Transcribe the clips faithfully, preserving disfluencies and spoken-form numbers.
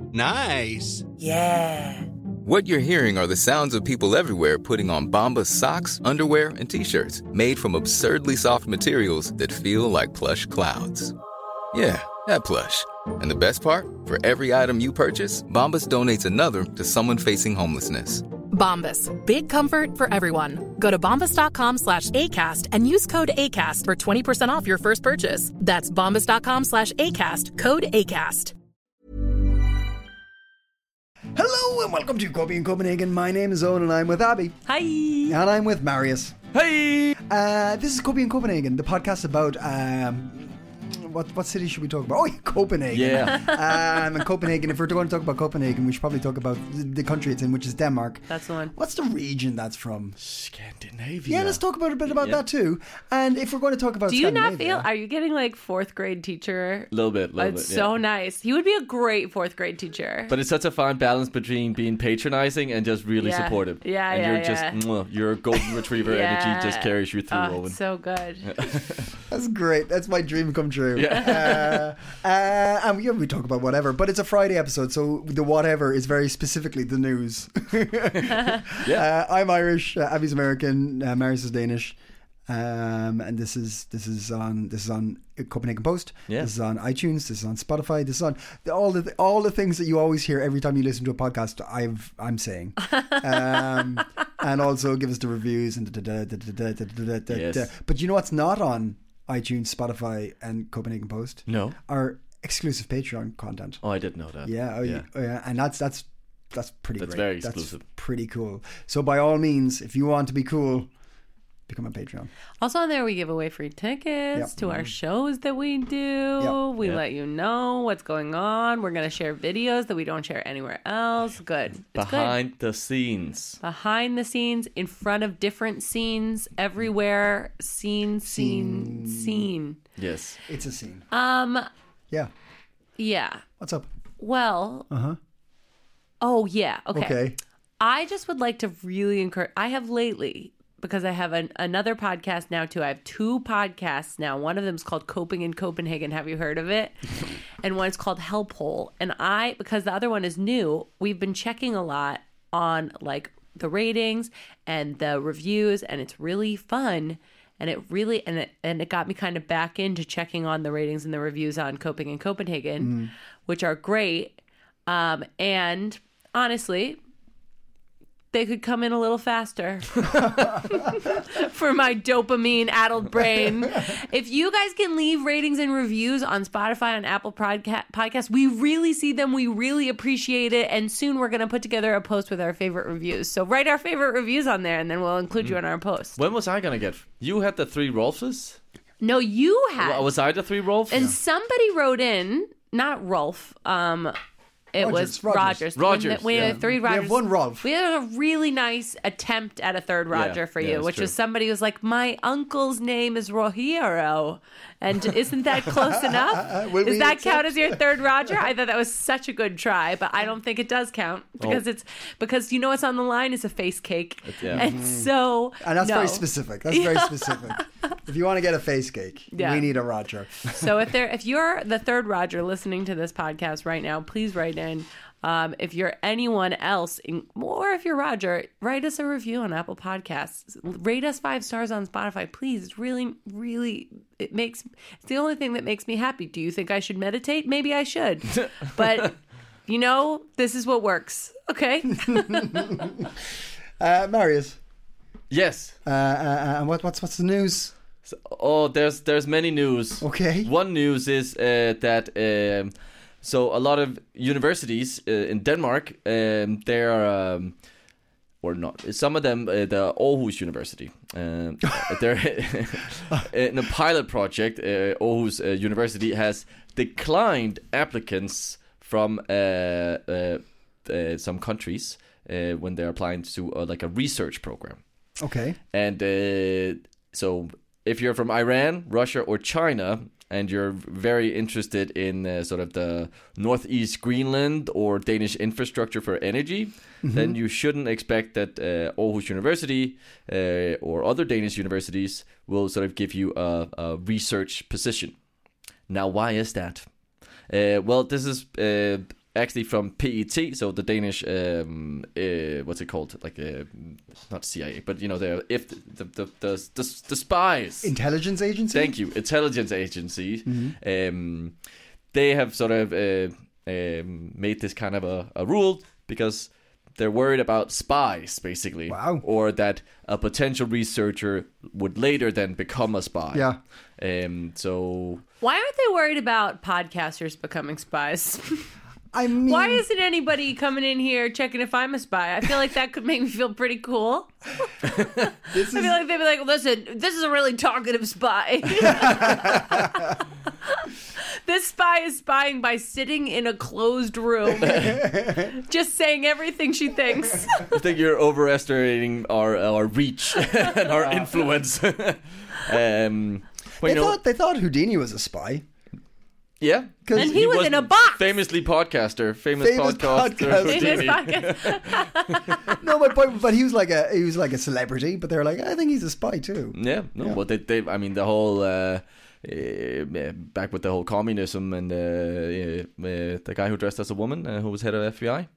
Nice. Yeah. What you're hearing are the sounds of people everywhere putting on Bombas socks, underwear, and T-shirts made from absurdly soft materials that feel like plush clouds. Yeah, that plush. And the best part? For every item you purchase, Bombas donates another to someone facing homelessness. Bombas. Big comfort for everyone. Go to bombas.com slash ACAST and use code ACAST for twenty percent off your first purchase. That's bombas.com slash ACAST. Code ACAST. Hello and welcome to Copy in Copenhagen. My name is Owen and I'm with Abby. Hi. And I'm with Marius. Hey! Uh, this is Copy in Copenhagen, the podcast about... Um, What what city should we talk about? Oh, yeah, Copenhagen. Yeah. um, and Copenhagen, if we're going to talk about Copenhagen, we should probably talk about the country it's in, which is Denmark. That's the one. What's the region that's from? Scandinavia. Yeah, let's talk about a bit about Yeah. that too. And if we're going to talk about Do you not Scandinavia, feel, are you getting like fourth grade teacher? A little bit, little It's bit. so yeah. nice. He would be a great fourth grade teacher. But it's such a fine balance between being patronizing and just really Yeah. supportive. Yeah, and yeah, you're yeah. just, mwah, your golden retriever Yeah. energy just carries you through, Oh, Owen. it's so good. that's great. That's my dream come true. Yeah. Uh, uh, and we, we talk about whatever, but it's a Friday episode, so the whatever is very specifically the news. Yeah. Uh, I'm Irish. Uh, Abby's American. Uh, Marius is Danish. Um, and this is this is on this is on Copenhagen Post. Yeah. This is on iTunes. This is on Spotify. This is on the, all the all the things that you always hear every time you listen to a podcast. I've I'm saying, um, and also give us the reviews and da, da, da, da, da, da, da, da, Yes. da. But you know what's not on iTunes, Spotify, and Copenhagen Post? No. Our exclusive Patreon content. Oh, I didn't know that. Yeah, oh, yeah. yeah. Oh, yeah. And that's that's that's pretty. That's great. very exclusive. That's pretty cool. So by all means, if you want to be cool, become a Patreon. Also on there, we give away free tickets Yep. to our shows that we do. Yep. We Yep. let you know what's going on. We're going to share videos that we don't share anywhere else. Good. It's Behind the scenes. good. Behind the scenes, in front of different scenes, everywhere. Scene, scene, scene. Yes. It's a scene. Um, Yeah. yeah. What's up? Well. Uh huh. Oh, yeah. Okay. Okay. I just would like to really encourage. I have lately, because I have an, another podcast now too. I have two podcasts now. One of them is called Coping in Copenhagen. Have you heard of it? And one is called Help Hole. And I, because the other one is new, we've been checking a lot on like the ratings and the reviews, and it's really fun. And it really, and it, and it got me kind of back into checking on the ratings and the reviews on Coping in Copenhagen, Mm. which are great. Um, and honestly, they could come in a little faster for my dopamine-addled brain. If you guys can leave ratings and reviews on Spotify and Apple Podca- Podcasts, we really see them. We really appreciate it. And soon we're going to put together a post with our favorite reviews. So write our favorite reviews on there, and then we'll include you in our post. When was I going to get? You had the three Rolfes? No, you had. Well, was I the three Rolfes? And somebody wrote in, not Rolf, um... It Rogers, was Rogers. Rogers. Rogers, We, we yeah. had three We Rogers. have one Rolf. We had a really nice attempt at a third Roger Yeah, for yeah, you, that's which true. was somebody who was like, my uncle's name is Rohiro. And isn't that close enough? Will Does we that accept? count as your third Roger? I thought that was such a good try, but I don't think it does count because Oh. it's because you know what's on the line is a face cake. yeah. And so And that's no. very specific. That's very specific. If you want to get a face cake, Yeah. we need a Roger. So if there, if you're the third Roger listening to this podcast right now, please write in. Um, if you're anyone else, in, or if you're Roger, write us a review on Apple Podcasts. Rate us five stars on Spotify, please. It's really, really, it makes, it's the only thing that makes me happy. Do you think I should meditate? Maybe I should. But, you know, this is what works. Okay? Uh, Marius, Yes. uh, uh, and what, what's what's the news? So- oh, there's there's many news. Okay. One news is uh, that um, so a lot of universities uh, in Denmark, um, they're um, or not some of them, uh, the Aarhus University, um, they're in a pilot project. Uh, Aarhus uh, University has declined applicants from uh, uh, uh, some countries uh, when they're applying to uh, like a research program. Okay. And uh, so if you're from Iran, Russia, or China, and you're very interested in uh, sort of the Northeast Greenland or Danish infrastructure for energy, mm-hmm. then you shouldn't expect that uh, Aarhus University uh, or other Danish universities will sort of give you a, a research position. Now, why is that? Uh, well, this is uh, actually from P E T, so the Danish, um, uh, what's it called? Like, uh, not C I A, but you know, the if the the the the, the spies, Intelligence agency. Thank you, intelligence agency. Mm-hmm. Um, they have sort of uh, um, made this kind of a, a rule because they're worried about spies, basically. Wow. Or that a potential researcher would later then become a spy. Yeah. Um. So Why aren't they worried about podcasters becoming spies? I mean, Why isn't anybody coming in here checking if I'm a spy? I feel like that could make me feel pretty cool. this I is, feel like they'd be like, listen, this is a really talkative spy. This spy is spying by sitting in a closed room, just saying everything she thinks. I think you're overestimating our our reach and our influence. um. Well, they you know, thought they thought Houdini was a spy. yeah, And he was in a box. Famously podcaster, famous, Famous podcaster. podcaster. In his pocket. No, my point. But he was like a he was like a celebrity. But they're like, I think he's a spy too. Yeah, no, Yeah. well, they, they, I mean, the whole uh, uh, back with the whole communism and uh, uh, uh, the guy who dressed as a woman, uh, who was head of F B I,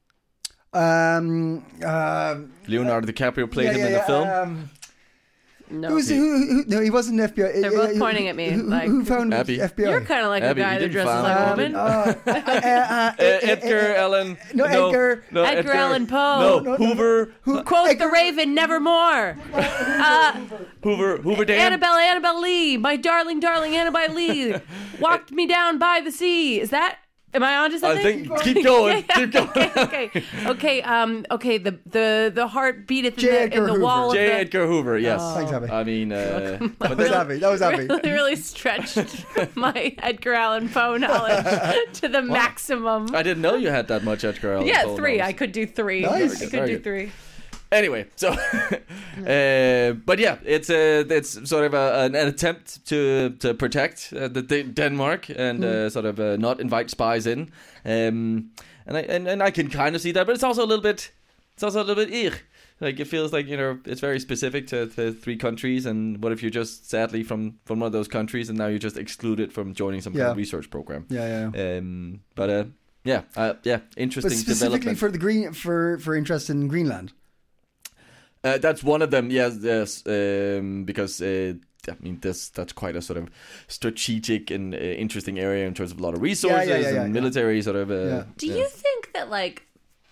Um. Uh, Leonardo DiCaprio played yeah, him yeah, in the yeah, film. Um, No. who was who, who? No, he wasn't F B I. They're both Uh, pointing at me, Who, like- who found Abby. F B I? You're kind of like Abby, a guy you that didn't dresses find like a it. woman. Uh, uh, uh, Uh, Edgar Allan. No, Edgar. No, Edgar Allan Poe. No, No, no, no. Hoover. Who? Quote Edgar- the Raven, nevermore. Uh, Hoover. Hoover Dam. Annabelle, Annabelle Lee, my darling, darling Annabelle Lee, walked me down by the sea. Is that? Am I onto I something? think. Keep going. Keep going. okay, okay, um, okay. The the the heartbeat at the, J. in the, Edgar in the wall J. of the. Edgar Hoover. Yes. Thanks, Abby. I mean, uh, but That was then, Abby. That was Abby. Really, really stretched my Edgar Allan Poe knowledge to the maximum. I didn't know you had that much Edgar Allan Yeah, Poe three. knowledge. I could do three. Nice. I could Very do good. three. Anyway, so, uh, but yeah, it's a it's sort of a, an, an attempt to to protect uh, the D- Denmark and uh, sort of uh, not invite spies in, um, and I and, and I can kind of see that, but it's also a little bit it's also a little bit eek. Like it feels like, you know, it's very specific to, to three countries, and what if you're just sadly from, from one of those countries and now you're just excluded from joining some kind Yeah. of research program? Yeah, yeah. yeah. Um, but uh, yeah, uh, yeah, interesting But specifically development. for the green for for interest in Greenland. Uh, that's one of them, yes, yes, um, because uh, I mean, this that's quite a sort of strategic and uh, interesting area in terms of a lot of resources yeah, yeah, and yeah. military sort of. Uh, Yeah. Do yeah. you think that like?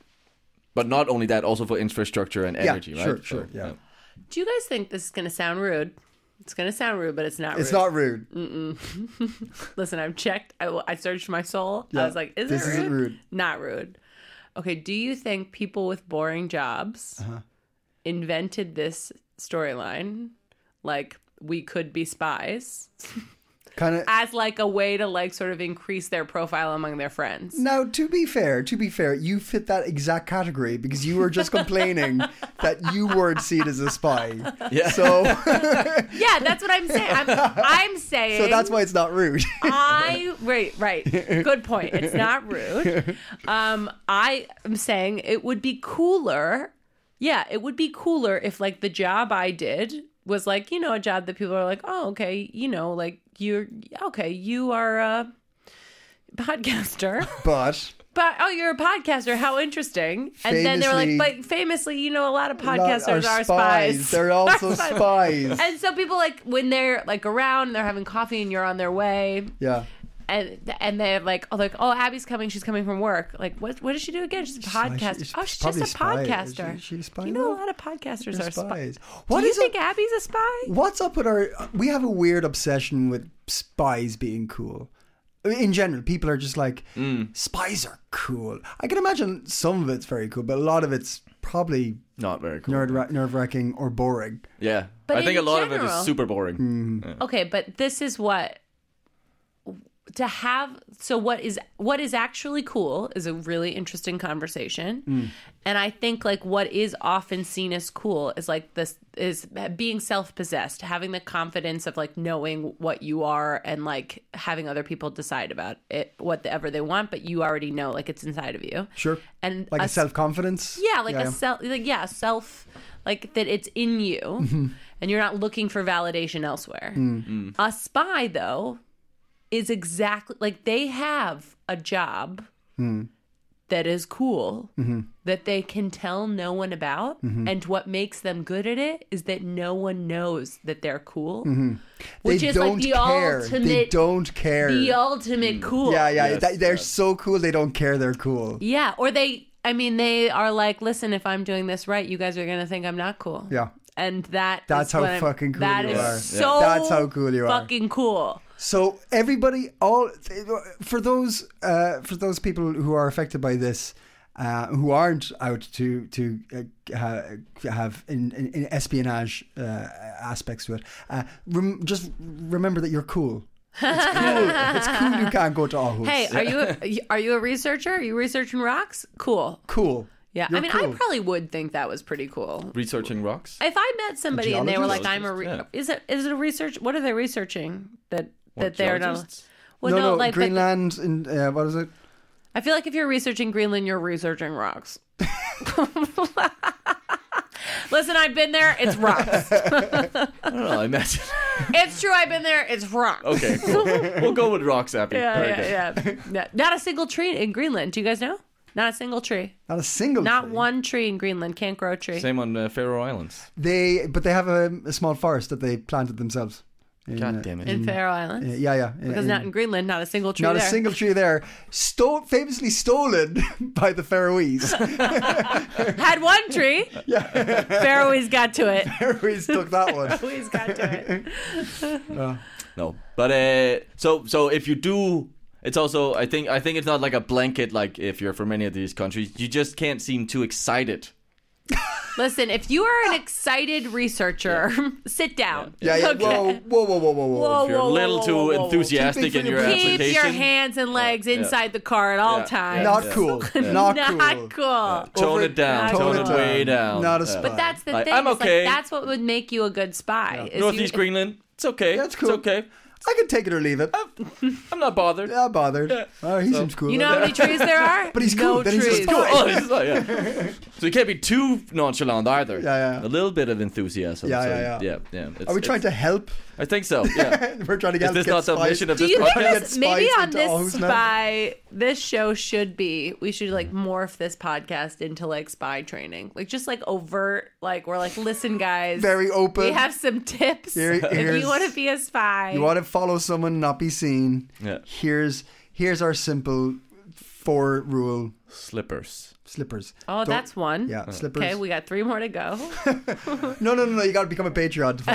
But not only that, also for infrastructure and Yeah, energy, sure, right? sure, yeah. Do you guys think this is going to sound rude? It's going to sound rude, but it's not. It's rude. not rude. Listen, I've checked. I, I searched my soul. Yeah, I was like, is this it rude? isn't rude. Not rude. Okay, do you think people with boring jobs Uh-huh. invented this storyline? Like, we could be spies Kind of. as like a way to like sort of increase their profile among their friends. Now, to be fair, to be fair, you fit that exact category because you were just complaining that you weren't seen as a spy. Yeah. So, Yeah, that's what I'm saying. I'm, I'm saying. so that's why it's not rude. I right, right. Good point. It's not rude. Um, I am saying it would be cooler. Yeah, it would be cooler if like the job I did was like, you know, a job that people are like, oh, okay, you know, like you're okay, you are a podcaster. But But oh, you're a podcaster. How interesting! And then they were like, Famously- but famously, you know, a lot of lot podcasters are spies. They're also Are spies. And so people like when they're like around, they're having coffee, and you're on their way. Yeah. And and they're like, oh, like, oh, Abby's coming. She's coming from work. Like, what? What does she do again? She's a podcaster. she's oh, she's probably just a a spy. podcaster. Is she- she a spy You know, though? a lot of podcasters They're are spies. spies. What do you is think it- Abby's a spy? What's up with our? We have a weird obsession with spies being cool. I mean, in general, people are just like, spies are cool. I can imagine some of it's very cool, but a lot of it's probably Not very cool. nerd nerve wracking or boring. Yeah, But I think in a lot of it general- is super boring. Mm. Okay, but this is what to have. So what is what is actually cool is a really interesting conversation, and I think like what is often seen as cool is like this is being self-possessed, having the confidence of like knowing what you are and like having other people decide about it whatever they want, but you already know like it's inside of you. Sure. And Like a, a self confidence. Yeah, like a self, like yeah, self, like that it's in you, and you're not looking for validation elsewhere. A spy, though, is exactly like they have a job that is cool Mm-hmm. that they can tell no one about. And what makes them good at it is that no one knows that they're cool. Mm-hmm. Which they is don't like the care. ultimate They don't care. the ultimate cool. yeah, yeah. Yes, that- they're yes. so cool. They don't care. They're cool. Yeah, or they I mean they are like, listen, if I'm doing this right, you guys are going to think I'm not cool. Yeah. And that That's is how what I'm- fucking cool that you is are. so That's how cool you are. fucking cool. So everybody, all for those uh, for those people who are affected by this, uh, who aren't out to to uh, ha, have in, in, in espionage uh, aspects to it, uh, rem- just remember that you're cool. It's cool. It's cool. You can't go to Aarhus. Hey, are you a, are you a researcher? Are you researching rocks? Cool. cool. Yeah, You're I mean, cool. I probably would think that was pretty cool. Researching rocks. If I met somebody and they were like, "I'm a," re- Yeah. is it is it a research? What are they researching that that What, they're not? geologists? Well, no, no, no, like but- Greenland. In uh, what is it? I feel like if you're researching Greenland, you're researching rocks. Listen, I've been there. It's rocks. I don't know. I imagine. It's true. I've been there. It's rocks. Okay, cool. We'll go with rocks, Abby. Yeah, Very yeah, good. yeah, yeah. Not a single tree in Greenland. Do you guys know? Not a single tree. Not a single. Not tree. one tree in Greenland. Can't grow a tree. Same on uh, Faroe Islands. They, but they have a, a small forest that they planted themselves. In, God uh, damn it. In Faroe Islands. Yeah, yeah. yeah. Because in- not in Greenland, not a single tree Not there. a single tree there. Sto- famously stolen by the Faroese. Had one tree. Yeah. Faroese got to it. Faroese took that one. Faroese got to it. No, but uh, so so if you do, it's also I think I think it's not like a blanket like if you're from any of these countries, you just can't seem too excited. Listen, if you are an excited researcher, sit down. Yeah, yeah. Okay. Whoa, whoa, whoa, whoa, whoa, whoa. Whoa, If you're a whoa, little whoa, too whoa, whoa, whoa. enthusiastic Keep it in for your the- Keep application, your hands and legs yeah. inside the car at all Yeah. times. Not Yeah. cool. Not cool. Not cool. tone Over- it down, Tone tone, it it way down. down. Not a Yeah. spy. But that's the Like, thing. I'm it's okay. Like, that's what would make you a good spy. is Northeast you, Greenland, it's okay. That's cool. It's okay. I can take it or leave it. I'm not bothered. Yeah, bothered. Yeah. Oh, he So- seems cool. You know how many trees there are? But he's no cool, then he's a trees. spy. Oh, it's not, yeah. So you can't be too nonchalant either. Yeah, yeah. A little bit of enthusiasm. Yeah, so, yeah, yeah. yeah, yeah. It's- Are we trying to it's- help? I think so. Yeah. We're trying to get Is this get not the spies. mission of Do this you think podcast? this, maybe Spies on into this Aarhus now? spy, this show should be, we should like morph this podcast into like spy training. Like just like overt, like we're like, listen guys. Very open. We have some tips. Here- if here's- you want to be a spy. You want to follow someone, not be seen. Yeah. Here's here's our simple four rule Slippers. slippers. oh, Don't- that's one. Yeah, slippers. Okay, we got three more to go. No, no, no, no. You got to become a Patreon to follow.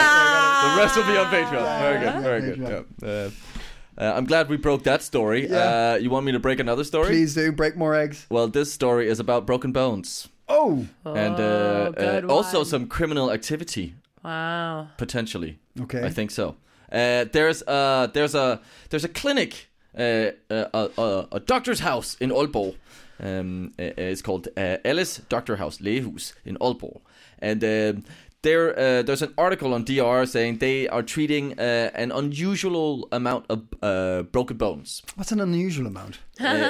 The rest will be on Patreon. Very good. Very good. Patreon. Yeah. Uh, uh, I'm glad we broke that story. Yeah. Uh, you want me to break another story? Please do break more eggs. Well, this story is about broken bones Oh, and uh, Oh, uh, good also one. some criminal activity Wow. potentially. okay. I think so. Uh, there's uh there's a there's a clinic, uh, uh, a, a, a doctor's house in Aalborg. Um, uh, it's called uh, Ellis Doctor House Lægehus in Aalborg, and um there uh, there's an article on D R saying they are treating uh, an unusual amount of uh, broken bones. What's an unusual amount?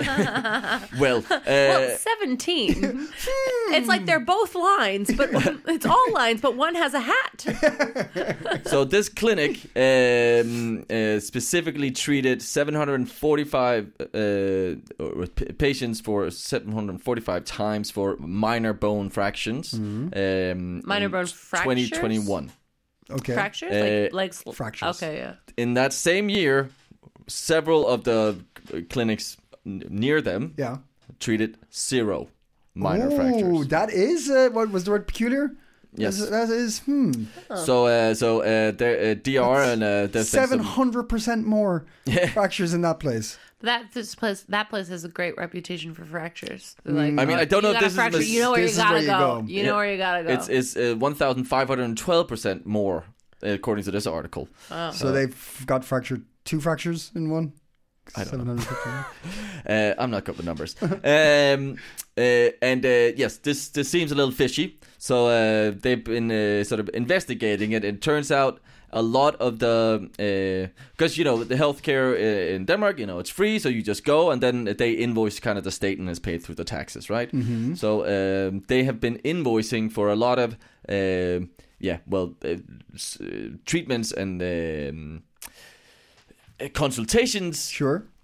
Well, uh, Well, seventeen. It's like they're both lines, but it's all lines, but one has a hat. so this clinic um, uh, specifically treated seven hundred forty-five uh, or p- patients for seven hundred forty-five times for minor bone fractions. Um, Minor in bone twenty fractures? twenty-one. Okay. Fractures? Uh, like, like sl- fractures. Okay, yeah. In that same year, several of the uh, clinics n- near them Yeah. treated zero minor Oh, fractures. that is uh, what was the word peculiar? Yes. That's- that is hmm. So, uh, so uh, there, uh, D R and uh, there's been Seven some- hundred percent more fractures in that place. That this place, that place has a great reputation for fractures. Like, I mean, I don't know you if got a this is fracture, mis- you know where this you is gotta where you go. go. You know where you gotta go. It's it's uh, one thousand five hundred twelve percent more, according to this article. So they've got fractured two fractures in one. I don't seven hundred fifty. Uh, I'm not good with numbers. um, uh, and uh, yes, this this seems a little fishy. So uh, they've been uh, sort of investigating it. It turns out a lot of the because uh, you know the healthcare uh, in Denmark, you know, it's free, so you just go and then they invoice kind of the state and it's paid through the taxes, right? Mm-hmm. So um, they have been invoicing for a lot of uh, yeah, well, uh, s- uh, treatments and um, uh, consultations. Sure.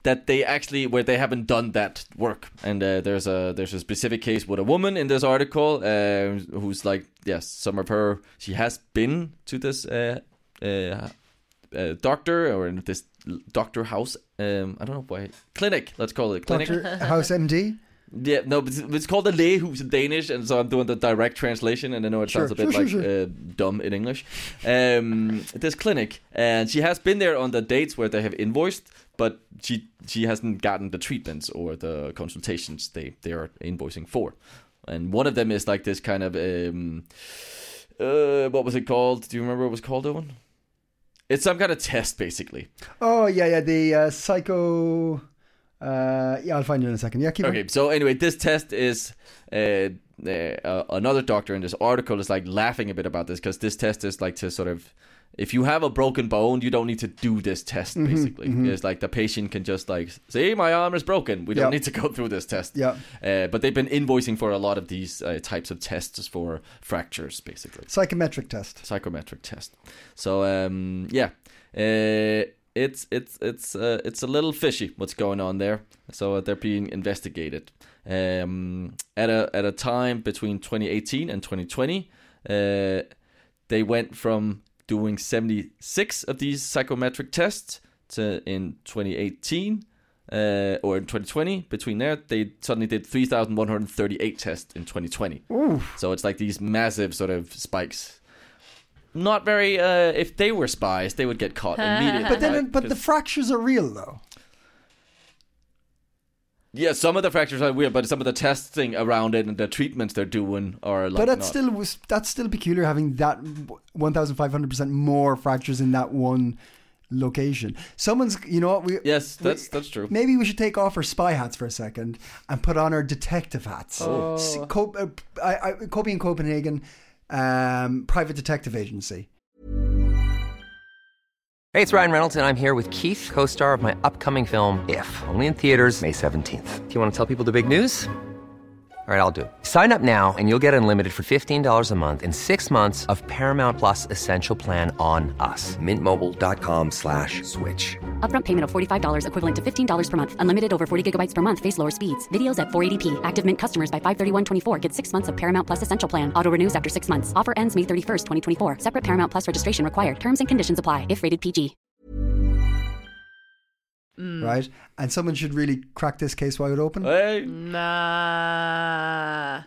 that they actually where they haven't done that work. And uh, there's a there's a specific case with a woman in this article uh, who's like, yes, some of her she has been to this uh, uh, uh, doctor or in this doctor house. Um, I don't know why clinic. Let's call it clinic. Doctor House M D. Yeah, no, but it's, it's called a lægehus in Danish, and so I'm doing the direct translation, and I know it sounds Sure, a bit sure, like sure, sure. Uh, dumb in English. Um, this clinic, and she has been there on the dates where they have invoiced, but she she hasn't gotten the treatments or the consultations they, they are invoicing for. And one of them is like this kind of, um, uh, what was it called? Do you remember what it was called, Owen? It's some kind of test, basically. Oh yeah, yeah. The uh, psycho. Uh, yeah, I'll find you in a second. Yeah, keep Okay, on. so anyway, this test is uh, uh, another doctor in this article is like laughing a bit about this because this test is like to sort of, if you have a broken bone, you don't need to do this test. Mm-hmm, Basically, it's like the patient can just like say, "My arm is broken. We don't Yeah. need to go through this test." Yeah. Uh, but they've been invoicing for a lot of these uh, types of tests for fractures, basically Psychometric test. psychometric test. So um, yeah, uh, it's it's it's uh, it's a little fishy what's going on there. So uh, they're being investigated. Um, at a at a time between twenty eighteen and twenty twenty, uh, they went from doing seventy-six of these psychometric tests to in twenty eighteen. Uh, or in twenty twenty, between there, they suddenly did three thousand one hundred thirty-eight tests in twenty twenty. Ooh. So it's like these massive sort of spikes. Not very. Uh, if they were spies, they would get caught immediately. But then, right? but the 'Cause- fractures are real though. yeah, some of the fractures are weird, but some of the testing around it and the treatments they're doing are like. But that's not. still was that's still peculiar having that one thousand five hundred percent more fractures in that one location. Someone's, you know what? We Yes, we- that's that's true. Maybe we should take off our spy hats for a second and put on our detective hats. Oh. S- Co- uh, I, I, Copy in Copenhagen, um, private detective agency. Hey, it's Ryan Reynolds, and I'm here with Keith, co-star of my upcoming film, If, only in theaters May seventeenth. Do you want to tell people the big news? All right, I'll do it. Sign up now and you'll get unlimited for fifteen dollars a month and six months of Paramount Plus Essential Plan on us. Mintmobile.com slash switch. Upfront payment of forty-five dollars equivalent to fifteen dollars per month. Unlimited over forty gigabytes per month. Face lower speeds. Videos at four eighty p. Active Mint customers by five thirty-one twenty-four get six months of Paramount Plus Essential Plan. Auto renews after six months. Offer ends May thirty-first, twenty twenty-four. Separate Paramount Plus registration required. Terms and conditions apply if rated P G. Right? And someone should really crack this case wide open. Hey, Nah.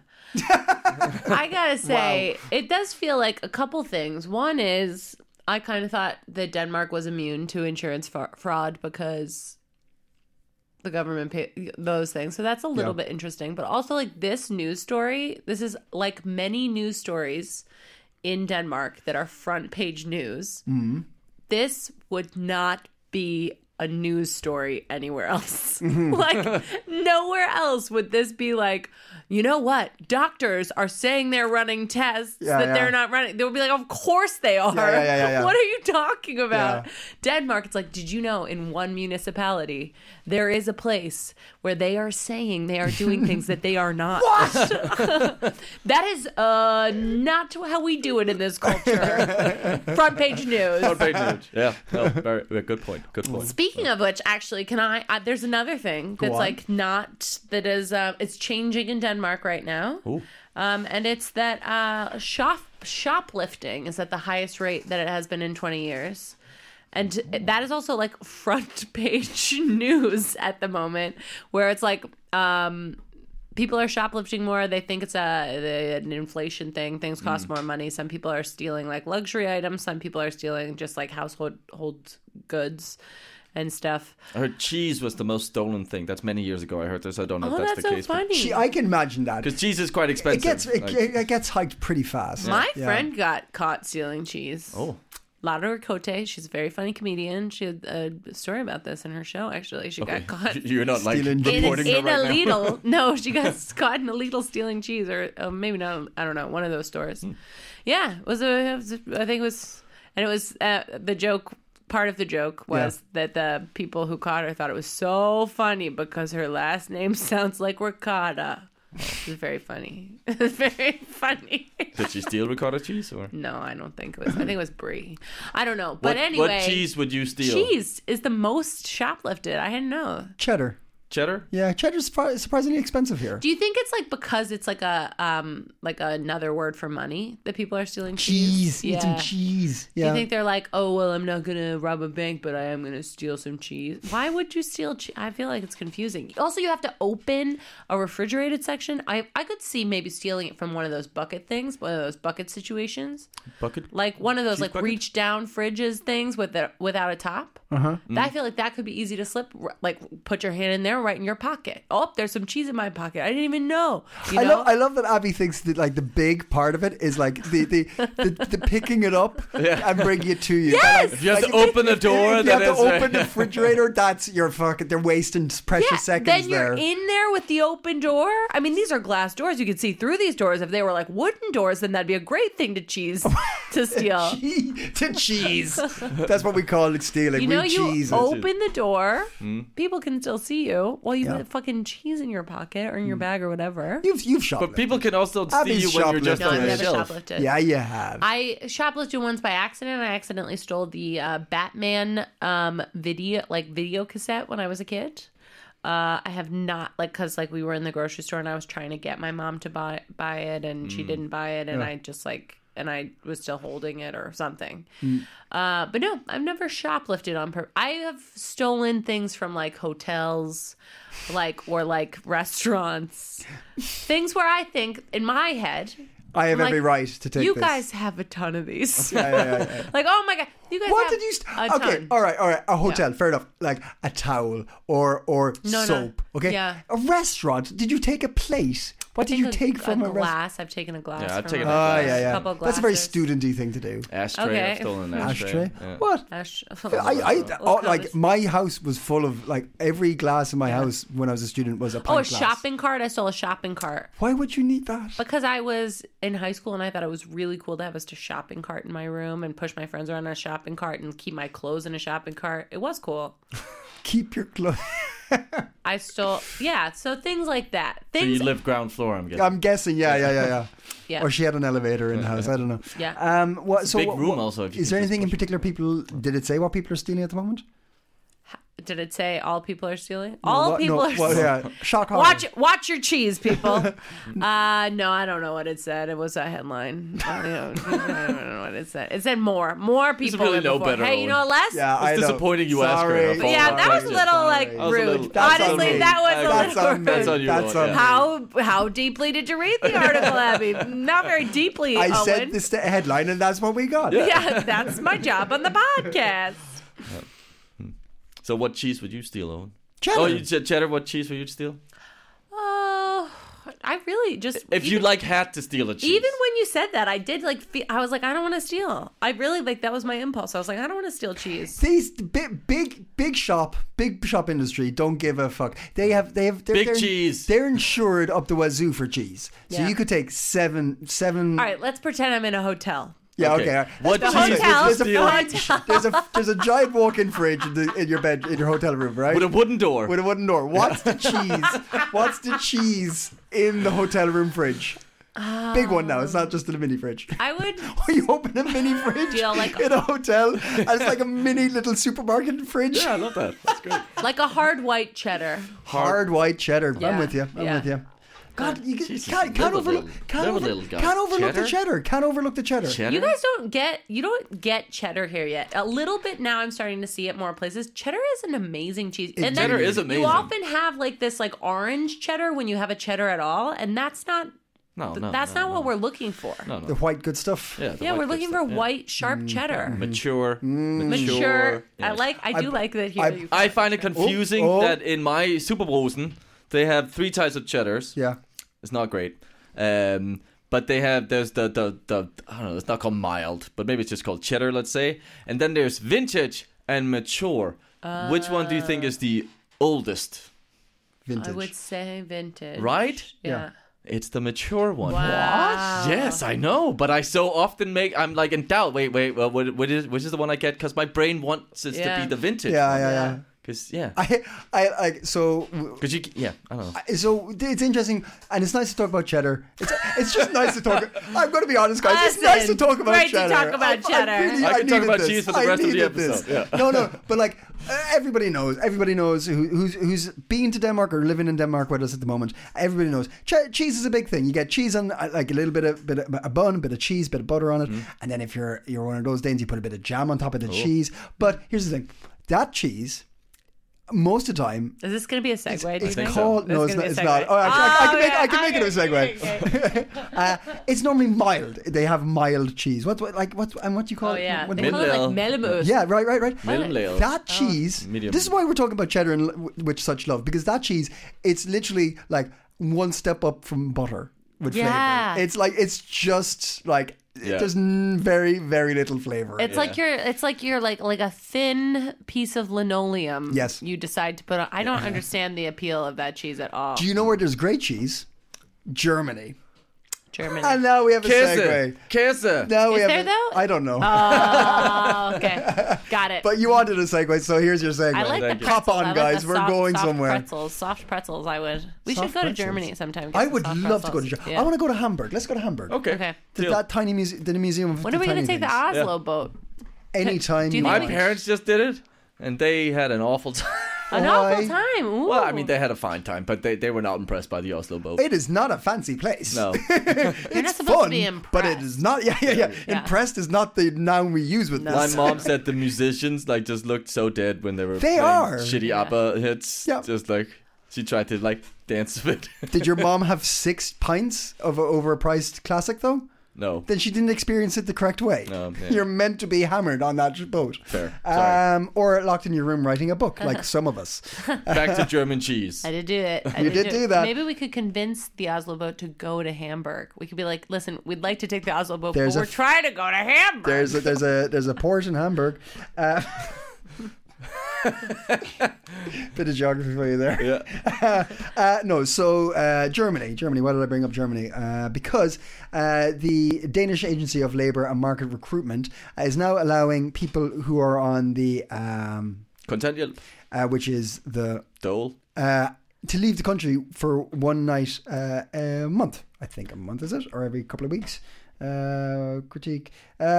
I gotta say, it does feel like a couple things. One is, I kind of thought that Denmark was immune to insurance fa- fraud because the government paid those things. So that's a little Yeah. bit interesting. But also, like, this news story, this is like many news stories in Denmark that are front page news. Mm-hmm. This would not be a news story anywhere else. Like, nowhere else would this be like, you know what? Doctors are saying they're running tests Yeah, that yeah. they're not running. They'll be like, of course they are. Yeah, yeah, yeah, yeah. What are you talking about? Yeah. Denmark, it's like, did you know in one municipality, there is a place where they are saying they are doing things that they are not. That is uh, not how we do it in this culture. Front page news. front page news. Yeah, no, very, very good point. Good point. Speaking of which, actually, can I? Uh, there's another thing that's on. like not that is. Uh, it's changing in Denmark right now, um, and it's that uh, shop shoplifting is at the highest rate that it has been in twenty years. And that is also like front page news at the moment, where it's like um, people are shoplifting more. They think it's a an inflation thing. Things cost more money. Some people are stealing like luxury items. Some people are stealing just like household hold goods and stuff. I heard cheese was the most stolen thing. That's many years ago. I heard this. I don't know Oh, if that's, that's the so case. funny. Gee, I can imagine that. Because cheese is quite It expensive. gets it, Like- it gets hiked pretty fast. My Yeah. friend got caught stealing cheese. oh, Lara Ricote, she's a very funny comedian. She had a story about this in her show, actually. She okay. got caught You're not like Stealing in, reporting in her a right now. Lidl. No, she got caught in a Lidl stealing cheese, or uh, maybe not. I don't know, one of those stores. Hmm. Yeah, it was a. It was a I think it was, and it was uh, the joke. Part of the joke was that the people who caught her thought it was so funny because her last name sounds like Ricotta. It was very funny. It was very funny. Did she steal ricotta cheese or? No, I don't think it was. I think it was brie. I don't know. But What, anyway. what cheese would you steal? Cheese is the most shoplifted. I didn't know. Cheddar. Cheddar? Yeah, cheddar's surpri- surprisingly expensive here. Do you think it's like because it's like a um like another word for money that people are stealing cheese? Cheese. Eat some cheese. Do Yeah. you think they're like, oh well, I'm not gonna rob a bank, but I am gonna steal some cheese? Why would you steal cheese? I feel like it's confusing. Also, you have to open a refrigerated section. I I could see maybe stealing it from one of those bucket things, one of those bucket situations, Bucket? like one of those Cheese like bucket? reach down fridges things with the, without a top. Uh-huh. I feel like that could be easy to slip. r- Like put your hand in there, right in your pocket. Oh, there's some cheese in my pocket. I didn't even know. You I know? love I love that Abby thinks that like the big part of it is like the the, the, the picking it up and bringing it to you. Yes! That, like, If you have like, to open the door, if you then have it's to uh, open the refrigerator, that's your fucking. They're wasting precious Yeah, seconds then you're there. in there with the open door. I mean, these are glass doors. You can see through these doors. If they were like wooden doors, then that'd be a great thing to cheese to steal. Che- to cheese. That's what we call it stealing. You know, we you cheese. open the door, Hmm? people can still see you. Well, you Yeah. put fucking cheese in your pocket or in your bag or whatever. You've you've shoplifted. But people can also see Abby's you when you're just shoplifted. No, on I've the never shelf. shoplifted. Yeah, you have. I shoplifted once by accident. I accidentally stole the uh, Batman um, video, like video cassette when I was a kid. Uh, I have not, like, cause like we were in the grocery store and I was trying to get my mom to buy buy it and she didn't buy it and I just like and I was still holding it or something. Uh, but no, I've never shoplifted on purpose. I have stolen things from like hotels, like or like restaurants, things where I think in my head. I have I'm every like, right to take You this. guys have a ton of these. Yeah, yeah, yeah, yeah. Like, oh my god, you guys What have did you? St- a okay, ton. all right, all right. A hotel, fair enough. Like a towel or or No, no. soap. Okay. Yeah. A restaurant. Did you take a plate? What did you a, take from a, a restaurant? glass? I've taken a glass. Yeah, I've from taken a a Oh glass. yeah, yeah. Couple That's a very glasses. studenty thing to do. Ashtray. Okay. I've stolen an ashtray. Ashtray. Yeah. What? Ash- I, I, Oh, oh, like my house was full of like every glass in my house when I was a student was a pint Oh, a glass. shopping cart. I stole a shopping cart Why would you need that? because I was in high school and I thought it was really cool to have a shopping cart in my room and push my friends around in a shopping cart and keep my clothes in a shopping cart. It was cool. Keep your clothes. I stole, yeah. So things like that. So Things. you live ground floor, I'm guessing. I'm guessing. Yeah, yeah, yeah, yeah. Yeah. Or she had an elevator in the house. I don't know. Yeah. Um. What? So big what, room what- also, if you Is can there just anything in push it. particular? People did it say what people are stealing at the moment? Did it say all people are stealing? All What- people no, are well, stealing. yeah. Shock horror. Watch watch your cheese, people. uh no, I don't know what it said. It was a headline. I don't I don't know what it said. It said more. More people really than no before. better, Hey, you Owen. know less? Yeah, I It's know. disappointing you asked her Sorry. a follow-up Yeah, that was a question. little like Sorry. That was a rude. little- That's on Honestly, me. that was a That's little on me. rude. That's on you, That's Owen, on yeah. me. How how deeply did you read the article, Abby? Not very deeply, I Owen. said this the headline, and that's what we got. Yeah, that's my job on the podcast. So what cheese would you steal, Owen? Cheddar. Oh, you said cheddar. What cheese would you steal? Oh, I really just If you even- like had to steal a cheese. Even when you said that, I did like. Fe- I was like, I don't want to steal. I really like that was my impulse. I was like, I don't want to steal cheese. These big, big, big shop, big shop industry don't give a fuck. They have, they have, they're, Big they're, cheese. They're insured up the wazoo for cheese, so Yeah. you could take seven, seven. All right, let's pretend I'm in a hotel. Yeah, okay. Okay. all right. What There's- cheese hotel- There's a the fridge. hotel. There's a there's a giant walk-in fridge in, the, in your bed in your hotel room, right? With a wooden door. With a wooden door. What's the cheese? What's the cheese in the hotel room fridge? Big one now. It's not just a mini fridge. I would. Or you open a mini fridge Deal like- in a hotel, and it's like a mini little supermarket fridge. Yeah, I love that. That's great. Like a hard white cheddar. Hard white cheddar. I'm Yeah, with you. I'm yeah. with you. God, you can, Jesus, can't, can't live a overlook, little- can't, live a over, little guy. can't overlook the Cheddar? cheddar. Can't overlook the cheddar. Cheddar? You guys don't get you don't get cheddar here yet. A little bit now. I'm starting to see it more places. Cheddar is an amazing cheese, and then Cheddar is amazing. You often have like this like orange cheddar when you have a cheddar at all, and that's not. No, no, that's no, not no. what we're looking for. No, no. The white good stuff. Yeah, the Yeah, white we're good looking stuff, for yeah. white sharp cheddar. Mature. Mature. I Yes. like. I do I- like that here. I- you I find it confusing Oh, oh. that in my Superbrosen, they have three types of cheddars. Yeah. It's not great. Um, but they have, there's the, the, the, I don't know, it's not called mild, but maybe it's just called cheddar, let's say. And then there's vintage and mature. Which one do you think is the oldest? Vintage. I would say vintage. Right? Yeah. Yeah. It's the mature one. Wow. What? Yes, I know, but I so often make, I'm like in doubt. Wait, wait, well, what, what is, which is the one I get? Because my brain wants it Yeah. to be the vintage Yeah, one. yeah, Yeah. yeah. Because yeah, I, I, I so because you yeah I don't know. so it's interesting, and it's nice to talk about cheddar. It's it's just nice to talk. I'm going to be honest, guys. It's Listen, nice to talk about great to cheddar. talk about I, cheddar. I, really, I I can talk needed about this. cheese for the I rest of the needed this. episode, yeah. No, no, but like uh, everybody knows. Everybody knows who, who's who's been to Denmark or living in Denmark with us at the moment. Everybody knows che- cheese is a big thing. You get cheese on uh, like a little bit of bit of a bun, a bit of cheese, bit of butter on it, Mm. and then if you're you're one of those Danes, you put a bit of jam on top of the cheese. But here's the thing: that cheese. Most of the time, Is this going to be a segue? do you it's think? called. This No, is it's gonna not. be a It's not. segue. Oh, actually, I, I can Oh, make. yeah, I can make it a okay, segue. okay, okay. uh, it's normally mild. They have mild cheese. What, what like what and what do you call Oh it? yeah, What- they call it like Middelal. Mellemus. yeah, right, right, right. Middelal. That cheese. Medium. This is why we're talking about cheddar and l- with such love, because that cheese, it's literally like one step up from butter with Yeah. flavor. It's like it's just like Yeah. there's n- very very little flavor. It's like you're. It's like you're like like a thin piece of linoleum. Yes. You decide to put on. I don't understand the appeal of that cheese at all. Do you know where there's great cheese? Germany. Germany. And now we have a Käse, segue. Käse. Now we Is have there a- though? I don't know. Oh, okay, got it. But you wanted a segue, so here's your segue. I like the Thank you. pretzels. Hop on, I like guys. the We're soft, going soft somewhere. Pretzels, soft pretzels. I would. We Soft should go to pretzels. Germany sometime. I would love to go to Germany. Germany. I want to go to Hamburg. Let's go to Hamburg. Okay. Okay. To Deal. that tiny museum, the museum of When the are we tiny going to take the things. Oslo boat? Anytime Do you you think My want. we- parents just did it, and they had an awful time. An Why? awful time. Ooh. Well, I mean, they had a fine time, but they, they were not impressed by the Oslo boat. It is not a fancy place. No. You're not It's supposed fun, to be but it impressed. is not. Yeah, yeah, yeah. Yeah. Impressed is not the noun we use with My this. mom said the musicians like just looked so dead when they were They playing are. shitty Yeah. ABBA hits. Yeah. Just like she tried to like dance a bit. Did your mom have six pints of a overpriced classic though? No. Then she didn't experience it the correct way. No, yeah. You're meant to be hammered on that boat. Fair. Sorry. Um, or locked in your room writing a book, like some of us. Back to German cheese. I did do it. I You did do it. that. Maybe we could convince the Oslo boat to go to Hamburg. We could be like, listen, we'd like to take the Oslo boat, There's but a we're f- trying to go to Hamburg. There's a, there's a there's a port in Hamburg. Uh, bit of geography for you there. Yeah. Uh, no, so uh, Germany, Germany. Why did I bring up Germany? Uh, because uh, the Danish Agency of Labour and Market Recruitment is now allowing people who are on the, um, Kontanthjælp. uh, which is the, Dole. uh, to leave the country for one night uh, a month. I think a month is it, or every couple of weeks. Uh, critique.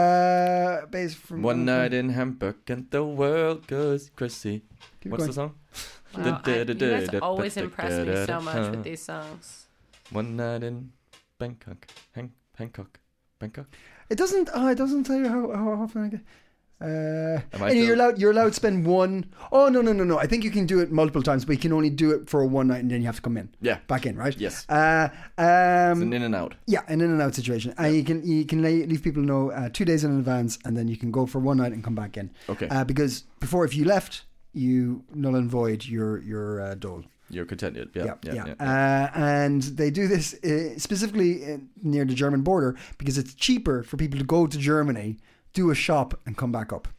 Uh, based from One night in Hamburg and the world goes crazy. Keep What's going. the song? Wow, I, you guys always impress me so much with these songs. One night in Bangkok. Hang, Bangkok. Bangkok. It doesn't. Oh, it doesn't tell you how, how often I get. Uh, Am I and you're still- allowed. You're allowed to spend one. Oh no no no no! I think you can do it multiple times, but you can only do it for one night, and then you have to come in. Yeah. Back in, right? Yes. Uh, It's um, an in and out. yeah, an in and out situation, and you can you can lay, leave people know uh, two days in advance, and then you can go for one night and come back in. Okay. Uh, because before, if you left, you null and void your your uh, dole. You're contented. Yeah. Yeah, Yeah. yeah. yeah. Uh, and they do this uh, specifically uh, near the German border because it's cheaper for people to go to Germany, do a shop, and come back up.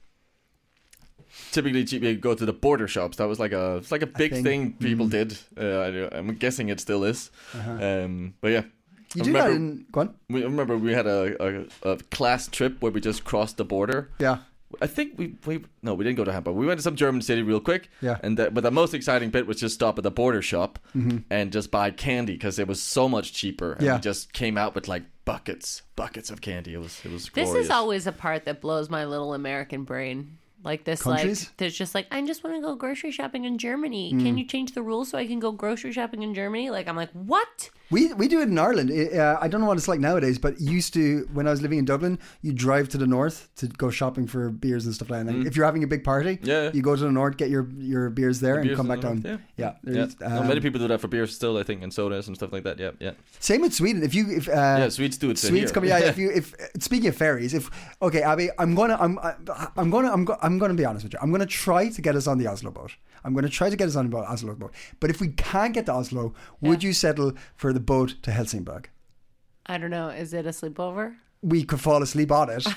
Typically, cheap- you go to the border shops. That was like a, it's like a big thing. thing people Mm. did. Uh, I, I'm guessing it still is. Um, but yeah, You I do that remember- in go on. We I remember we had a, a, a class trip where we just crossed the border. Yeah. I think we, we no we didn't go to Hamburg. We went to some German city real quick. Yeah. And the, but the most exciting bit was just stop at the border shop and just buy candy because it was so much cheaper. And Yeah. we just came out with like buckets, buckets of candy. It was it was This glorious. is always a part that blows my little American brain. Like this, Countries? like there's just like I just want to go grocery shopping in Germany. Mm. Can you change the rules so I can go grocery shopping in Germany? Like I'm like, what? We we do it in Ireland. Uh, I don't know what it's like nowadays, but used to when I was living in Dublin, you drive to the north to go shopping for beers and stuff like that. And if you're having a big party, Mm. Yeah. you go to the north, get your your beers there, and beers come in back the down. north, Yeah, Yeah, there's, no, um, many people do that for beer still, I think, and sodas and stuff like that. Yeah, yeah. Same with Sweden. If you if uh, Yeah, Swedes do it to Swedes here. come. Yeah, if you if speaking of ferries, if okay, Abby, I'm gonna I'm I'm gonna I'm go, I'm gonna be honest with you. I'm gonna try to get us on the Oslo boat. I'm gonna try to get us on the Oslo boat. But if we can't get to Oslo, would you settle for the boat to Helsingborg? I don't know. Is it a sleepover? We could fall asleep on it.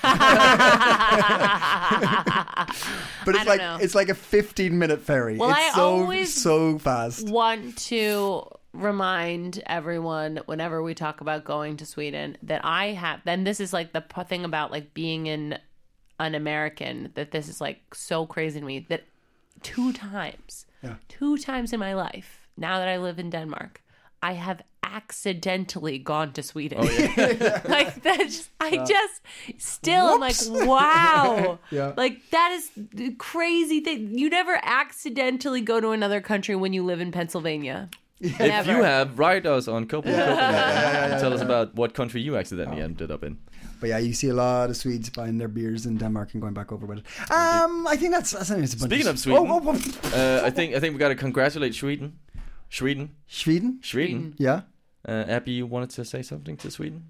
But it's I don't like know. it's like a fifteen minute ferry. Well, it's I so always so fast. Want to remind everyone whenever we talk about going to Sweden that I have. Then this is like the p- thing about like being in an American that this is like so crazy to me that two times, Yeah. two times in my life, now that I live in Denmark, I have accidentally gone to Sweden. Oh, yeah. Like that's, I just still I'm like, wow. Yeah. Like that is the crazy thing. You never accidentally go to another country when you live in Pennsylvania. If Never. you have, write us on Copenhagen. Copenhagen. Tell us about what country you accidentally ended up in. But yeah, you see a lot of Swedes buying their beers in Denmark and going back over with it. Um, I think that's, that's I think it's a bunch Speaking of, of Sweden, oh, oh, oh. uh, I think I think we got to congratulate Sweden. Sweden. Sweden, Sweden. yeah. Uh, Abby, you wanted to say something to Sweden?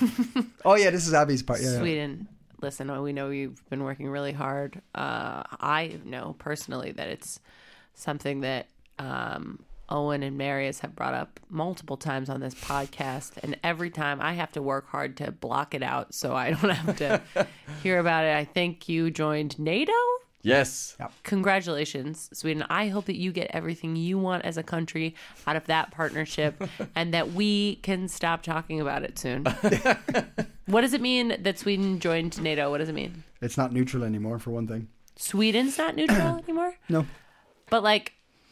Oh yeah, this is Abby's part. Yeah, yeah. Sweden, listen, we know you've been working really hard. Uh, I know personally that it's something that um, Owen and Marius have brought up multiple times on this podcast, and every time I have to work hard to block it out so I don't have to hear about it. I think you joined NATO? Yes. Congratulations, Sweden. I hope that you get everything you want as a country out of that partnership and that we can stop talking about it soon. What does it mean that Sweden joined NATO? What does it mean? It's not neutral anymore, for one thing. Sweden's not neutral anymore? No. But, like,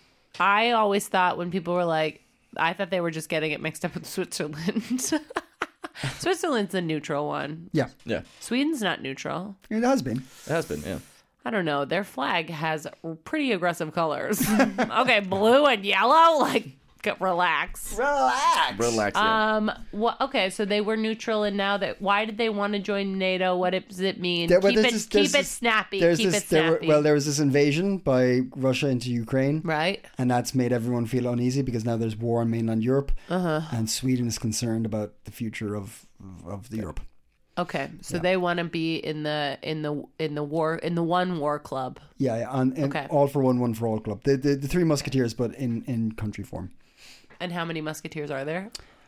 I always thought when people were like, I thought they were just getting it mixed up with Switzerland. Switzerland's the neutral one. Yeah, Yeah. Sweden's not neutral. it has been. It has been, yeah. I don't know. Their flag has pretty aggressive colors. Okay, blue and yellow. Like, get, relax. Relax. Relax. Yeah. Um. What? Okay. So they were neutral, and now that why did they want to join NATO? What does it mean? There- well, keep there's it. this- there's keep it this- snappy. There's Keep this, it there were, snappy. well, there was this invasion by Russia into Ukraine, right. and that's made everyone feel uneasy because now there's war in mainland Europe, uh-huh. and Sweden is concerned about the future of of the Europe. Okay. So they want to be in the in the in the war in the one war club. Yeah, yeah, and, and Okay. all for one, one for all club. The the, the three musketeers, but in, in country form. And how many musketeers are there?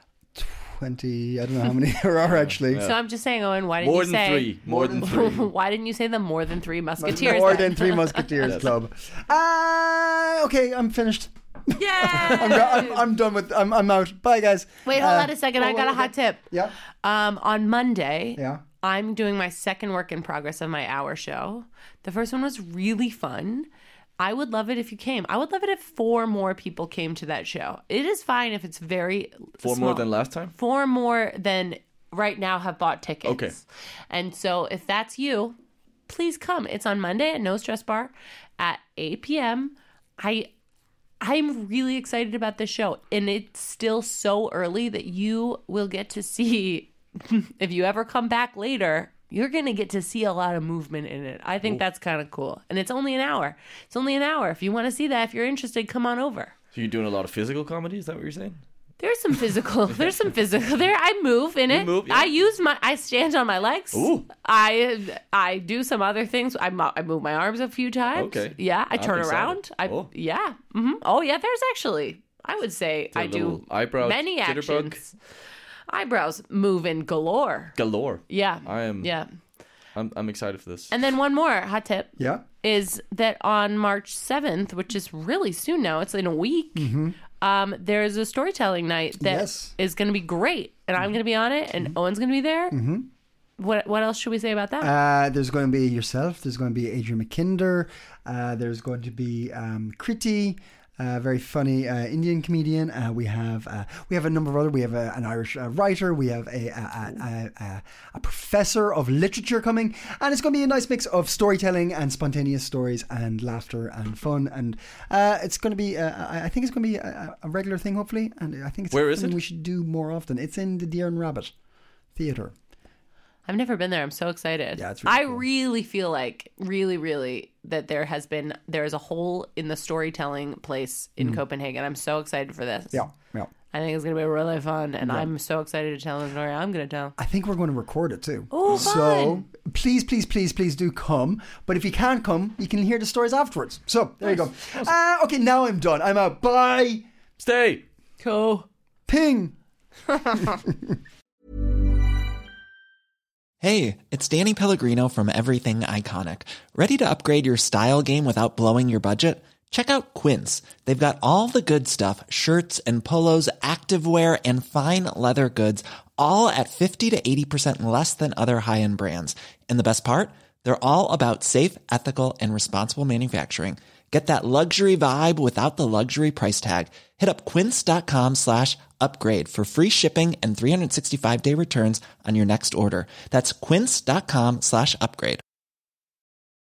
Twenty. I don't know how many there are actually. So I'm just saying, Owen. Why didn't More you than say three. More than three. Why didn't you say the more than three musketeers? More then? than three musketeers club. Uh, okay, I'm finished. Yeah. I'm, I'm, I'm done with. I'm I'm out. Bye, guys. Wait, hold Uh, on a second. I oh, got a okay. hot tip. Yeah. Um, on Monday, Yeah. I'm doing my second work in progress of my hour show. The first one was really fun. I would love it if you came. I would love it if four more people came to that show. It is fine if it's very Four small. more than last time? Four more than right now have bought tickets. Okay. And so if that's you, please come. It's on Monday at No Stress Bar at eight p.m. I I'm really excited about this show, and it's still so early that you will get to see, if you ever come back later, you're going to get to see a lot of movement in it. I think that's kind of cool. And it's only an hour. It's only an hour. If you want to see that, if you're interested, come on over. So you're doing a lot of physical comedy? Is that what you're saying? There's some physical. There's some physical there. I move in it. move, yeah. I use my. I stand on my legs. Ooh. I I do some other things. I mo- I move my arms a few times. Okay. Yeah. I I'm turn excited. around. I Oh. yeah. hmm Oh yeah. There's actually. I would say Do a I do little eyebrow many jitterbug? actions. Eyebrows move in galore. Galore. Yeah. I am. Yeah. I'm, I'm excited for this. And then one more hot tip. Yeah. Is that on March seventh, which is really soon now, it's in a week, um, there's a storytelling night that is Yes. going to be great. And I'm going to be on it, and Owen's going to be there. Mm-hmm. What What else should we say about that? Uh, there's going to be yourself. There's going to be Adrian McKinder. Uh, there's going to be um, Kriti, a very funny uh, Indian comedian. Uh, we have uh, we have a number of other. We have a, an Irish uh, writer. We have a a, a, a a professor of literature coming, and it's going to be a nice mix of storytelling and spontaneous stories and laughter and fun. And uh, it's going to be. Uh, I I think it's going to be a, a regular thing, hopefully. And I think it's Where is something it? we should do more often. It's in the Deer and Rabbit Theatre. I've never been there. I'm so excited. Yeah, it's really I cool. really feel like, really, really, that there has been, there is a hole in the storytelling place in Copenhagen. I'm so excited for this. Mm. Yeah, yeah. I think it's going to be really fun, and I'm so excited to tell the story I'm going to tell. I think we're going to record it too. Oh, So fun. please, please, please, please do come. But if you can't come, you can hear the stories afterwards. So there you go. Uh, okay, now I'm done. I'm out. Bye. Stay! Cool. Ping. Hey, it's Danny Pellegrino from Everything Iconic. Ready to upgrade your style game without blowing your budget? Check out Quince. They've got all the good stuff, shirts and polos, activewear, and fine leather goods, all at fifty to eighty percent less than other high-end brands. And the best part? They're all about safe, ethical, and responsible manufacturing. Get that luxury vibe without the luxury price tag. Hit up quince.com slash upgrade for free shipping and three sixty-five day returns on your next order. That's quince.com slash upgrade.